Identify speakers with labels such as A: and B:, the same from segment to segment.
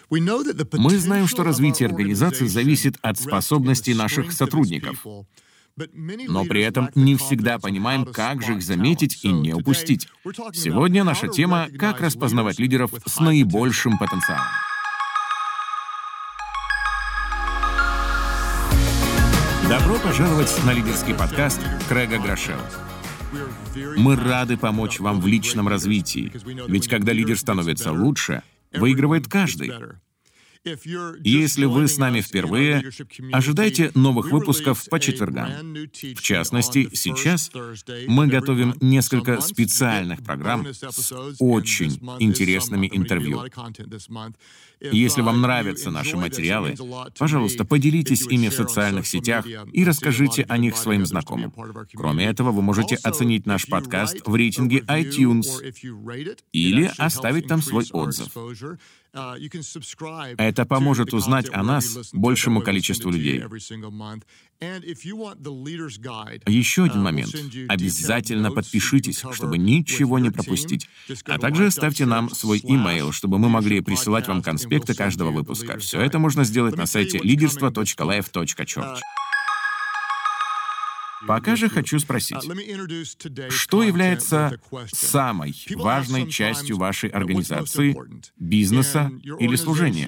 A: Мы знаем, что развитие организации зависит от способностей наших сотрудников, но при этом не всегда понимаем, как же их заметить и не упустить. Сегодня наша тема — как распознавать лидеров с наибольшим потенциалом. Добро пожаловать на лидерский подкаст Крэга Грошева. Мы рады помочь вам в личном развитии, ведь когда лидер становится лучше, выигрывает каждый. Если вы с нами впервые, ожидайте новых выпусков по четвергам. В частности, сейчас мы готовим несколько специальных программ с очень интересными интервью. Если вам нравятся наши материалы, пожалуйста, поделитесь ими в социальных сетях и расскажите о них своим знакомым. Кроме этого, вы можете оценить наш подкаст в рейтинге iTunes или оставить там свой отзыв. Это поможет узнать о нас большему количеству людей. Еще один момент. Обязательно подпишитесь, чтобы ничего не пропустить. А также оставьте нам свой имейл, чтобы мы могли присылать вам конспекты каждого выпуска. Все это можно сделать на сайте liderstvo.life.church. Пока же хочу спросить, что является самой важной частью вашей организации, бизнеса или служения?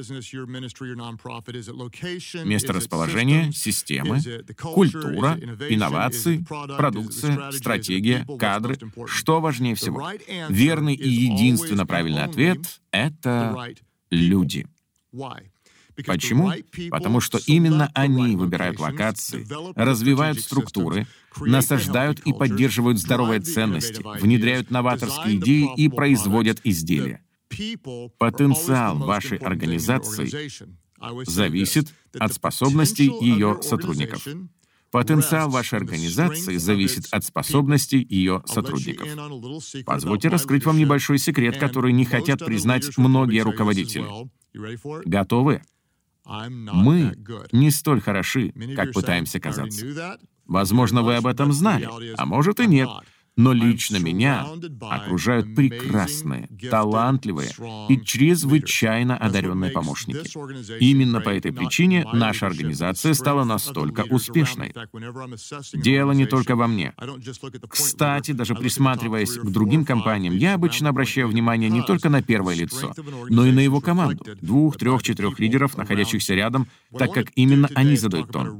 A: Месторасположение, системы, культура, инновации, продукция, стратегия, кадры. Что важнее всего? Верный и единственно правильный ответ — это люди. Почему? Потому что именно они выбирают локации, развивают структуры, насаждают и поддерживают здоровые ценности, внедряют новаторские идеи и производят изделия. Потенциал вашей организации зависит от способностей ее сотрудников. Потенциал вашей организации зависит от способностей ее сотрудников. Позвольте раскрыть вам небольшой секрет, который не хотят признать многие руководители. Готовы? Мы не столь хороши, как пытаемся казаться. Возможно, вы об этом знали, а может и нет. Но лично меня окружают прекрасные, талантливые и чрезвычайно одаренные помощники. Именно по этой причине наша организация стала настолько успешной. Дело не только во мне. Кстати, даже присматриваясь к другим компаниям, я обычно обращаю внимание не только на первое лицо, но и на его команду, 2, 3, 4 лидеров, находящихся рядом, так как именно они задают тон.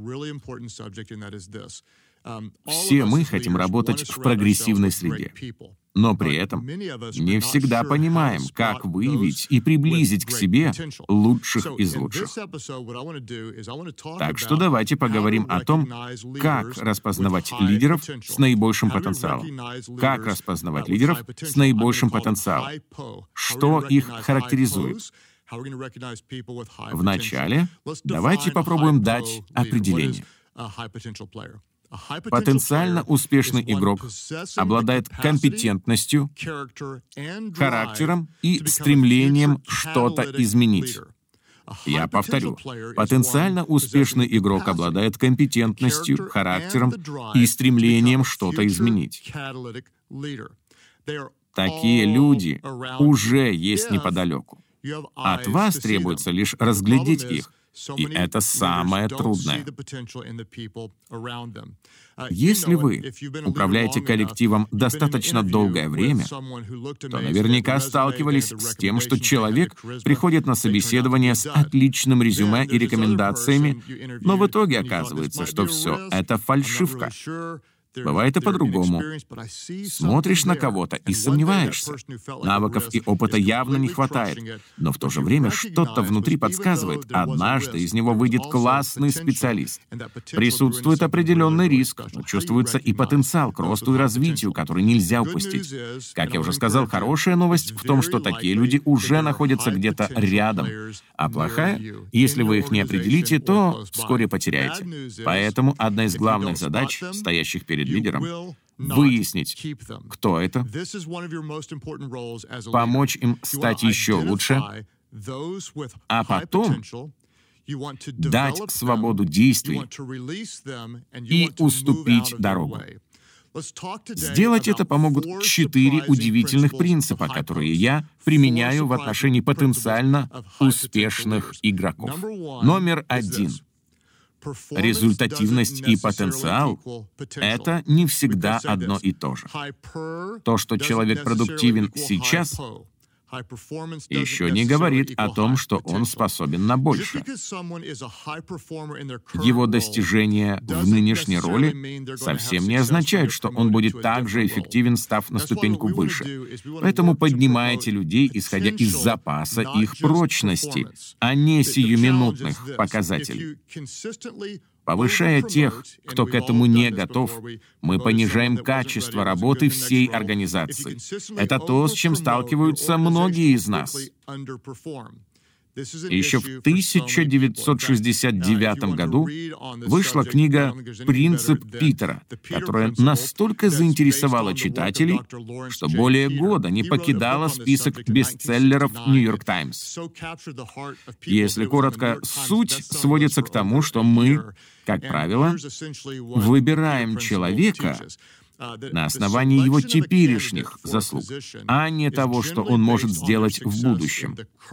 A: Все мы хотим работать в прогрессивной среде, но при этом не всегда понимаем, как выявить и приблизить к себе лучших из лучших. Так что давайте поговорим о том, как распознавать лидеров с наибольшим потенциалом. Как распознавать лидеров с наибольшим потенциалом? Что их характеризует? Вначале давайте попробуем дать определение. Потенциально успешный игрок обладает компетентностью, характером и стремлением что-то изменить. Я повторю. Потенциально успешный игрок обладает компетентностью, характером и стремлением что-то изменить. Такие люди уже есть неподалеку. От вас требуется лишь разглядеть их. И это самое трудное. Если вы управляете коллективом достаточно долгое время, то наверняка сталкивались с тем, что человек приходит на собеседование с отличным резюме и рекомендациями, но в итоге оказывается, что все это фальшивка. Бывает и по-другому. Смотришь на кого-то и сомневаешься. Навыков и опыта явно не хватает, но в то же время что-то внутри подсказывает, однажды из него выйдет классный специалист. Присутствует определенный риск, но чувствуется и потенциал к росту и развитию, который нельзя упустить. Как я уже сказал, хорошая новость в том, что такие люди уже находятся где-то рядом, а плохая, если вы их не определите, то вскоре потеряете. Поэтому одна из главных задач, стоящих перед лидером, выяснить, кто это, помочь им стать еще лучше, а потом дать свободу действий и уступить дорогу. Сделать это помогут 4 удивительных принципа, которые я применяю в отношении потенциально успешных игроков. Номер 1. Результативность и потенциал — это не всегда одно и то же. То, что человек продуктивен сейчас, еще не говорит о том, что он способен на большее. Его достижения в нынешней роли совсем не означают, что он будет так же эффективен, став на ступеньку выше. Поэтому поднимайте людей, исходя из запаса их прочности, а не сиюминутных показателей. Повышая тех, кто к этому не готов, мы понижаем качество работы всей организации. Это то, с чем сталкиваются многие из нас. Еще в 1969 году вышла книга «Принцип Питера», которая настолько заинтересовала читателей, что более года не покидала список бестселлеров «Нью-Йорк Таймс». Если коротко, суть сводится к тому, что мы, как правило, выбираем человека на основании его теперешних заслуг, а не того, что он может сделать в будущем.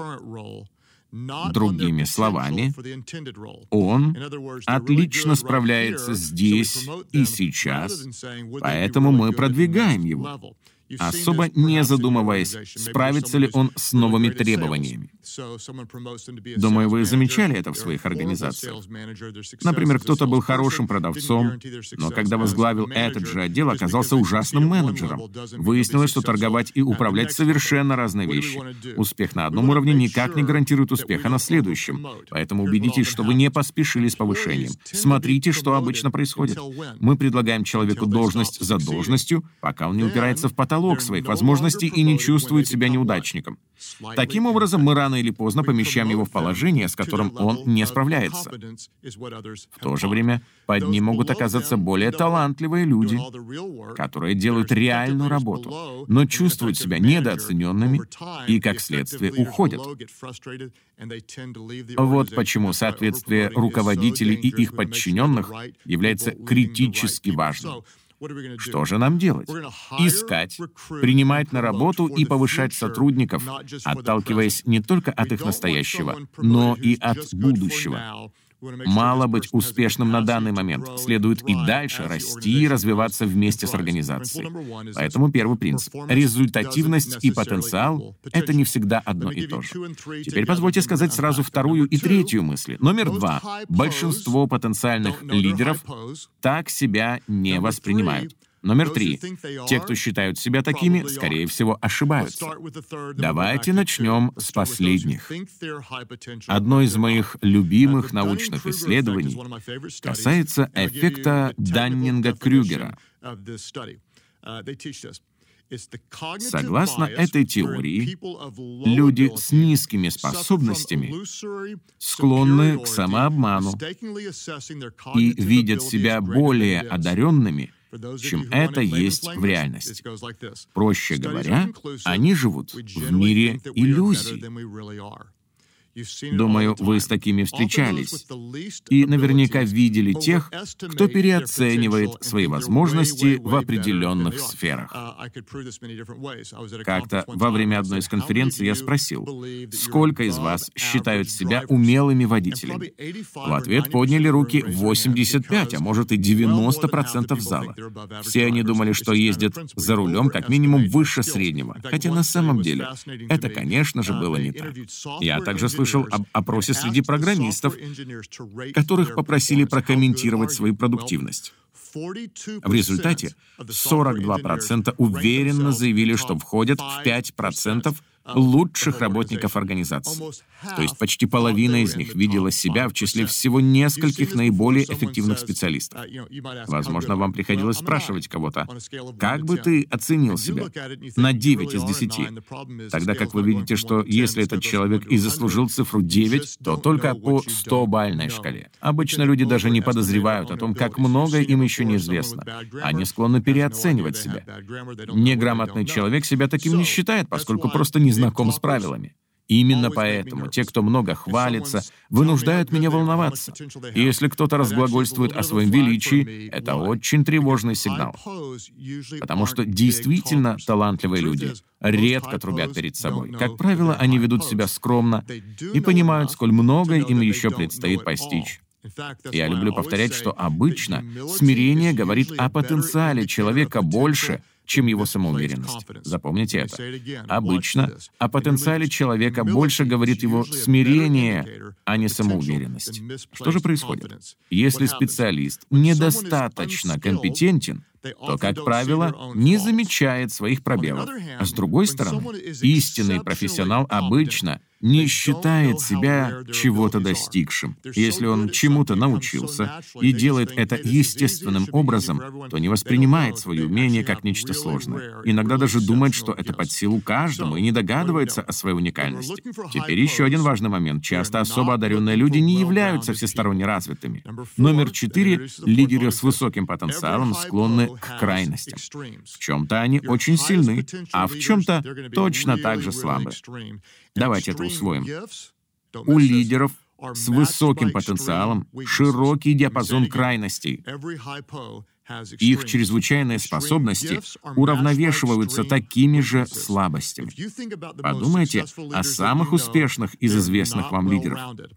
A: Другими словами, он отлично справляется здесь и сейчас, поэтому мы продвигаем его, особо не задумываясь, справится ли он с новыми требованиями. Думаю, вы замечали это в своих организациях. Например, кто-то был хорошим продавцом, но когда возглавил этот же отдел, оказался ужасным менеджером. Выяснилось, что торговать и управлять совершенно разные вещи. Успех на одном уровне никак не гарантирует успеха на следующем. Поэтому убедитесь, что вы не поспешили с повышением. Смотрите, что обычно происходит. Мы предлагаем человеку должность за должностью, пока он не упирается в потолок своих возможностей и не чувствует себя неудачником. Таким образом, мы рано или поздно помещаем его в положение, с которым он не справляется. В то же время под ним могут оказаться более талантливые люди, которые делают реальную работу, но чувствуют себя недооцененными и, как следствие, уходят. Вот почему соответствие руководителей и их подчиненных является критически важным. Что же нам делать? Искать, принимать на работу и повышать сотрудников, отталкиваясь не только от их настоящего, но и от будущего. Мало быть успешным на данный момент, следует и дальше расти и развиваться вместе с организацией. Поэтому первый принцип — результативность и потенциал — это не всегда одно и то же. Теперь позвольте сказать сразу вторую и третью мысли. Номер 2. Большинство потенциальных лидеров так себя не воспринимают. Номер 3. Те, кто считают себя такими, скорее всего, ошибаются. Давайте начнем с последних. Одно из моих любимых научных исследований касается эффекта Даннинга-Крюгера. Согласно этой теории, люди с низкими способностями склонны к самообману и видят себя более одаренными, чем это есть в реальности. Проще говоря, они живут в мире иллюзий. Думаю, вы с такими встречались и наверняка видели тех, кто переоценивает свои возможности в определенных сферах. Как-то во время одной из конференций я спросил, сколько из вас считают себя умелыми водителями? В ответ подняли руки 85, а может и 90% зала. Все они думали, что ездят за рулем как минимум выше среднего, хотя на самом деле это, конечно же, было не так. Я также слышал об опросе среди программистов, которых попросили прокомментировать свою продуктивность. В результате 42% уверенно заявили, что входят в 5% лучших работников организации. То есть почти половина из них видела себя в числе всего нескольких наиболее эффективных специалистов. Возможно, вам приходилось спрашивать кого-то, как бы ты оценил себя на 9 из 10, тогда как вы видите, что если этот человек и заслужил цифру 9, то только по 100-бальной шкале. Обычно люди даже не подозревают о том, как много им еще неизвестно. Они склонны переоценивать себя. Неграмотный человек себя таким не считает, поскольку просто не знаком с правилами. Именно поэтому те, кто много хвалится, вынуждают меня волноваться. И если кто-то разглагольствует о своем величии, это очень тревожный сигнал. Потому что действительно талантливые люди редко трубят перед собой. Как правило, они ведут себя скромно и понимают, сколь многое им еще предстоит постичь. Я люблю повторять, что обычно смирение говорит о потенциале человека больше, чем его самоуверенность. Запомните это. Обычно о потенциале человека больше говорит его смирение, а не самоуверенность. Что же происходит? Если специалист недостаточно компетентен, то, как правило, не замечает своих пробелов. А с другой стороны, истинный профессионал обычно не считает себя чего-то достигшим. Если он чему-то научился и делает это естественным образом, то не воспринимает свои умения как нечто сложное. Иногда даже думает, что это под силу каждому и не догадывается о своей уникальности. Теперь еще один важный момент. Часто особо одаренные люди не являются всесторонне развитыми. Номер 4. Лидеры с высоким потенциалом склонны к крайностям. В чем-то они очень сильны, а в чем-то точно так же слабы. Давайте это усвоим. У лидеров с высоким потенциалом широкий диапазон крайностей. Их чрезвычайные способности уравновешиваются такими же слабостями. Подумайте о самых успешных из известных вам лидеров.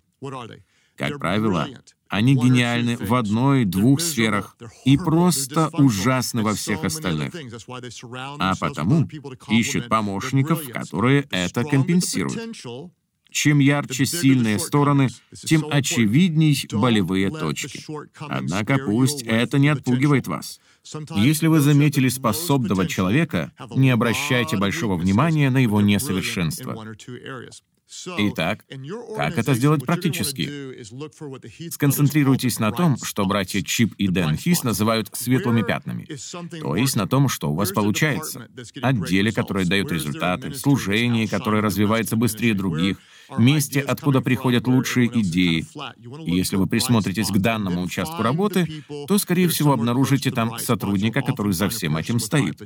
A: Как правило, они гениальны в одной-двух сферах и просто ужасны во всех остальных. А потому ищут помощников, которые это компенсируют. Чем ярче сильные стороны, тем очевидней болевые точки. Однако пусть это не отпугивает вас. Если вы заметили способного человека, не обращайте большого внимания на его несовершенство. Итак, как это сделать практически? Сконцентрируйтесь на том, что братья Чип и Дэн Хис называют светлыми пятнами, то есть на том, что у вас получается, о деле, которое дает результаты, служении, которое развивается быстрее других, месте, откуда приходят лучшие идеи. И если вы присмотритесь к данному участку работы, то, скорее всего, обнаружите там сотрудника, который за всем этим стоит.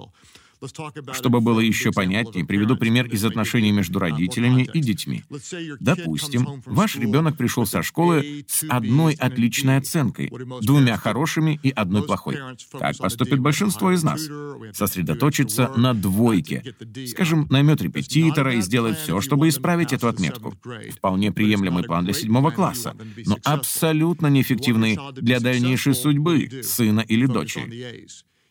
A: Чтобы было еще понятнее, приведу пример из отношений между родителями и детьми. Допустим, ваш ребенок пришел со школы с одной отличной оценкой, двумя хорошими и одной плохой. Как поступит большинство из нас? Сосредоточится на двойке. Скажем, наймет репетитора и сделает все, чтобы исправить эту отметку. Вполне приемлемый план для 7 класса, но абсолютно неэффективный для дальнейшей судьбы сына или дочери.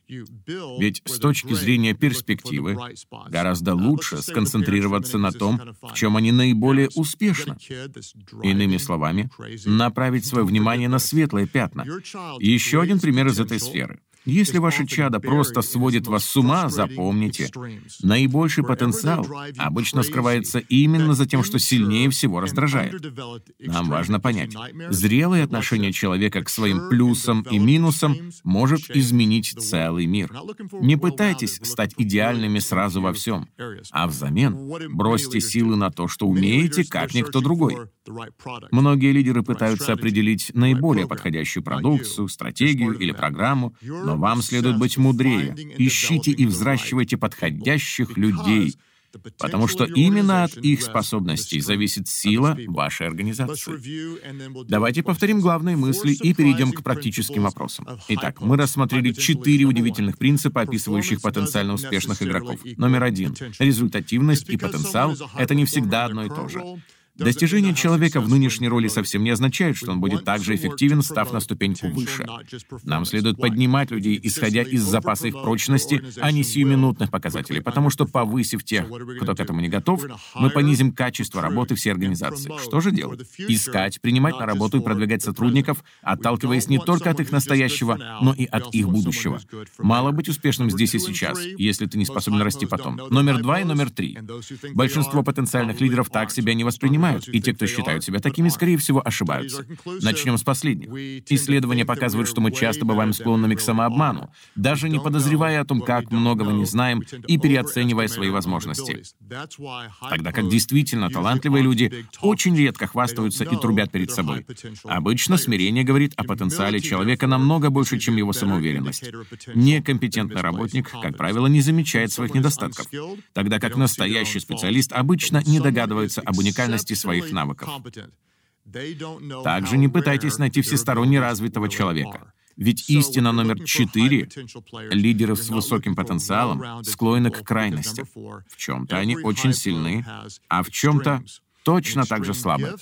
A: Ведь с точки зрения перспективы гораздо лучше сконцентрироваться на том, в чем они наиболее успешны. Иными словами, направить свое внимание на светлые пятна. Еще один пример из этой сферы. Если ваше чадо просто сводит вас с ума, запомните, наибольший потенциал обычно скрывается именно за тем, что сильнее всего раздражает. Нам важно понять, зрелое отношение человека к своим плюсам и минусам может изменить целый мир. Не пытайтесь стать идеальными сразу во всем, а взамен бросьте силы на то, что умеете, как никто другой. Многие лидеры пытаются определить наиболее подходящую продукцию, стратегию или программу, но вам следует быть мудрее. Ищите и взращивайте подходящих людей, потому что именно от их способностей зависит сила вашей организации. Давайте повторим главные мысли и перейдем к практическим вопросам. Итак, мы рассмотрели 4 удивительных принципа, описывающих потенциально успешных игроков. Номер 1. Результативность и потенциал — это не всегда одно и то же. Достижение человека в нынешней роли совсем не означает, что он будет так же эффективен, став на ступеньку выше. Нам следует поднимать людей, исходя из запаса их прочности, а не сиюминутных показателей, потому что, повысив тех, кто к этому не готов, мы понизим качество работы всей организации. Что же делать? Искать, принимать на работу и продвигать сотрудников, отталкиваясь не только от их настоящего, но и от их будущего. Мало быть успешным здесь и сейчас, если ты не способен расти потом. Номер 2 и номер 3. Большинство потенциальных лидеров так себя не воспринимают, понимают, и те, кто считают себя такими, скорее всего, ошибаются. Начнем с последних. Исследования показывают, что мы часто бываем склонными к самообману, даже не подозревая о том, как многого не знаем, и переоценивая свои возможности. Тогда как действительно талантливые люди очень редко хвастаются и трубят перед собой. Обычно смирение говорит о потенциале человека намного больше, чем его самоуверенность. Некомпетентный работник, как правило, не замечает своих недостатков, тогда как настоящий специалист обычно не догадывается об уникальности своих навыков. Также не пытайтесь найти всесторонне развитого человека. Ведь истина номер 4 — лидеры с высоким потенциалом склонны к крайностям. В чем-то они очень сильны, а в чем-то точно так же слабы.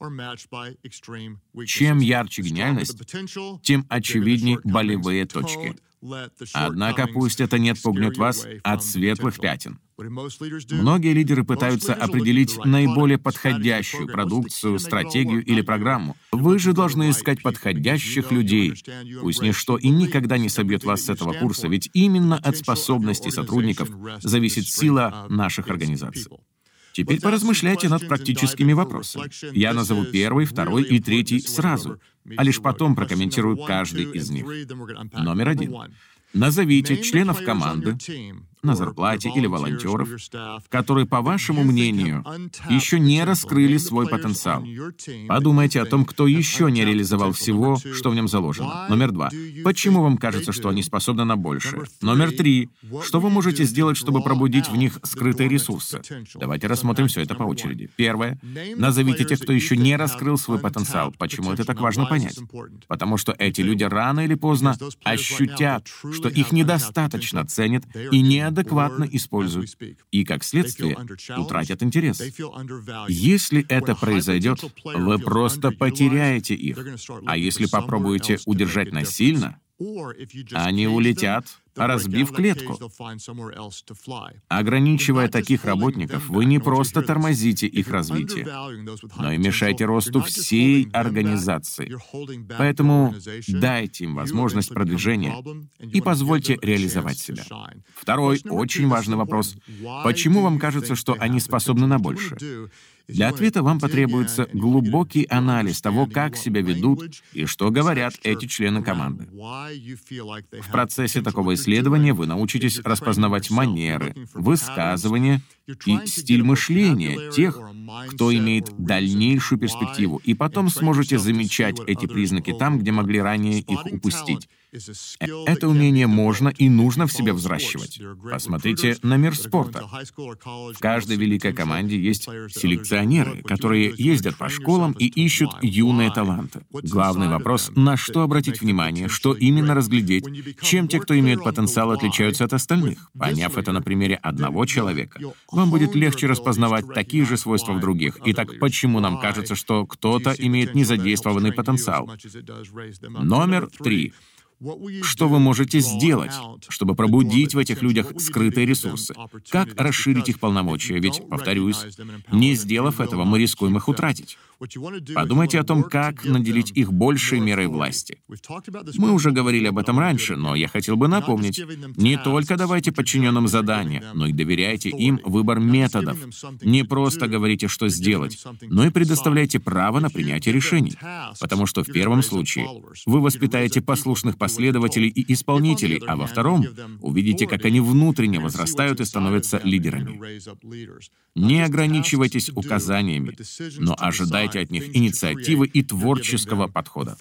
A: Чем ярче гениальность, тем очевиднее болевые точки. Однако пусть это не отпугнет вас от светлых пятен. Многие лидеры пытаются определить наиболее подходящую продукцию, стратегию или программу. Вы же должны искать подходящих людей. Пусть ничто и никогда не собьет вас с этого курса, ведь именно от способностей сотрудников зависит сила наших организаций. Теперь поразмышляйте над практическими вопросами. Я назову первый, второй и третий сразу, а лишь потом прокомментирую каждый из них. Номер 1. Назовите членов команды на зарплате или волонтеров, которые, по вашему мнению, еще не раскрыли свой потенциал. Подумайте о том, кто еще не реализовал всего, что в нем заложено. Номер 2. Почему вам кажется, что они способны на большее? Номер 3. Что вы можете сделать, чтобы пробудить в них скрытые ресурсы? Давайте рассмотрим все это по очереди. Первое. Назовите тех, кто еще не раскрыл свой потенциал. Почему это так важно понять? Потому что эти люди рано или поздно ощутят, что их недостаточно ценят и неадекватно используют, и, как следствие, утратят интерес. Если это произойдет, вы просто потеряете их. А если попробуете удержать насильно, они улетят, разбив клетку. Ограничивая таких работников, вы не просто тормозите их развитие, но и мешаете росту всей организации. Поэтому дайте им возможность продвижения и позвольте реализовать себя. Второй очень важный вопрос. Почему вам кажется, что они способны на большее? Для ответа вам потребуется глубокий анализ того, как себя ведут и что говорят эти члены команды. В процессе такого исследования вы научитесь распознавать манеры, высказывания и стиль мышления тех, кто имеет дальнейшую перспективу, и потом сможете замечать эти признаки там, где могли ранее их упустить. Это умение можно и нужно в себе взращивать. Посмотрите на мир спорта. В каждой великой команде есть селекционеры, которые ездят по школам и ищут юные таланты. Главный вопрос — на что обратить внимание, что именно разглядеть, чем те, кто имеет потенциал, отличаются от остальных. Поняв это на примере одного человека, вам будет легче распознавать такие же свойства в других. Итак, почему нам кажется, что кто-то имеет незадействованный потенциал? Номер 3. Что вы можете сделать, чтобы пробудить в этих людях скрытые ресурсы? Как расширить их полномочия? Ведь, повторюсь, не сделав этого, мы рискуем их утратить. Подумайте о том, как наделить их большей мерой власти. Мы уже говорили об этом раньше, но я хотел бы напомнить, не только давайте подчиненным задания, но и доверяйте им выбор методов. Не просто говорите, что сделать, но и предоставляйте право на принятие решений. Потому что в первом случае вы воспитаете послушных последователей и исполнителей, а во втором увидите, как они внутренне возрастают и становятся лидерами. Не ограничивайтесь указаниями, но ожидайте от них инициативы и творческого подхода.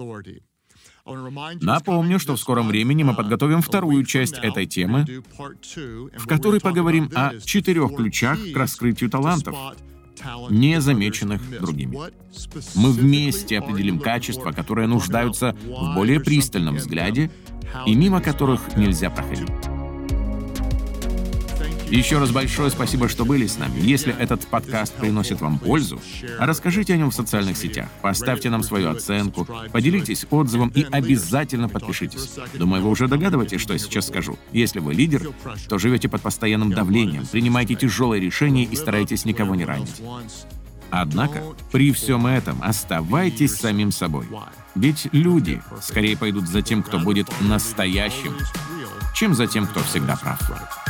A: Напомню, что в скором времени мы подготовим вторую часть этой темы, в которой поговорим о 4 ключах к раскрытию талантов, не замеченных другими. Мы вместе определим качества, которые нуждаются в более пристальном взгляде и мимо которых нельзя проходить. Еще раз большое спасибо, что были с нами. Если этот подкаст приносит вам пользу, расскажите о нем в социальных сетях, поставьте нам свою оценку, поделитесь отзывом и обязательно подпишитесь. Думаю, вы уже догадываетесь, что я сейчас скажу. Если вы лидер, то живете под постоянным давлением, принимаете тяжелые решения и стараетесь никого не ранить. Однако, при всем этом оставайтесь самим собой. Ведь люди скорее пойдут за тем, кто будет настоящим, чем за тем, кто всегда прав.